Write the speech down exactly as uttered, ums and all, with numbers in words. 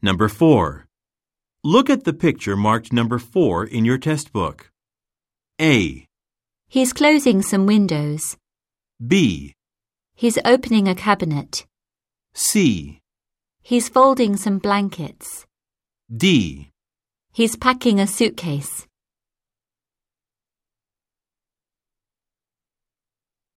Number four. Look at the picture marked number four in your test book. A. He's closing some windows. B. He's opening a cabinet. C. He's folding some blankets. D. He's packing a suitcase.